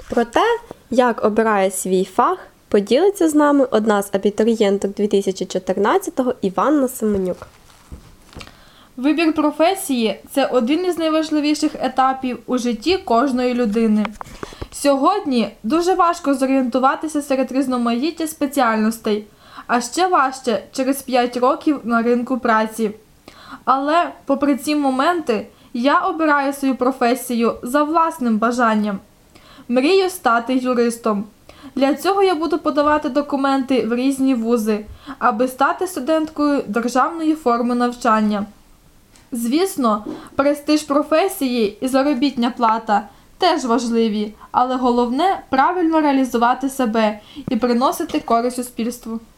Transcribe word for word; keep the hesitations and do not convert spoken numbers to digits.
Про те, як обирає свій фах, поділиться з нами одна з абітурієнток дві тисячі чотирнадцятого Іванна Семенюк. Вибір професії – це один із найважливіших етапів у житті кожної людини. Сьогодні дуже важко зорієнтуватися серед різноманіття спеціальностей, а ще важче через п'ять років на ринку праці. Але, попри ці моменти, я обираю свою професію за власним бажанням. Мрію стати юристом. Для цього я буду подавати документи в різні вузи, аби стати студенткою державної форми навчання. Звісно, престиж професії і заробітня плата теж важливі, але головне – правильно реалізувати себе і приносити користь суспільству.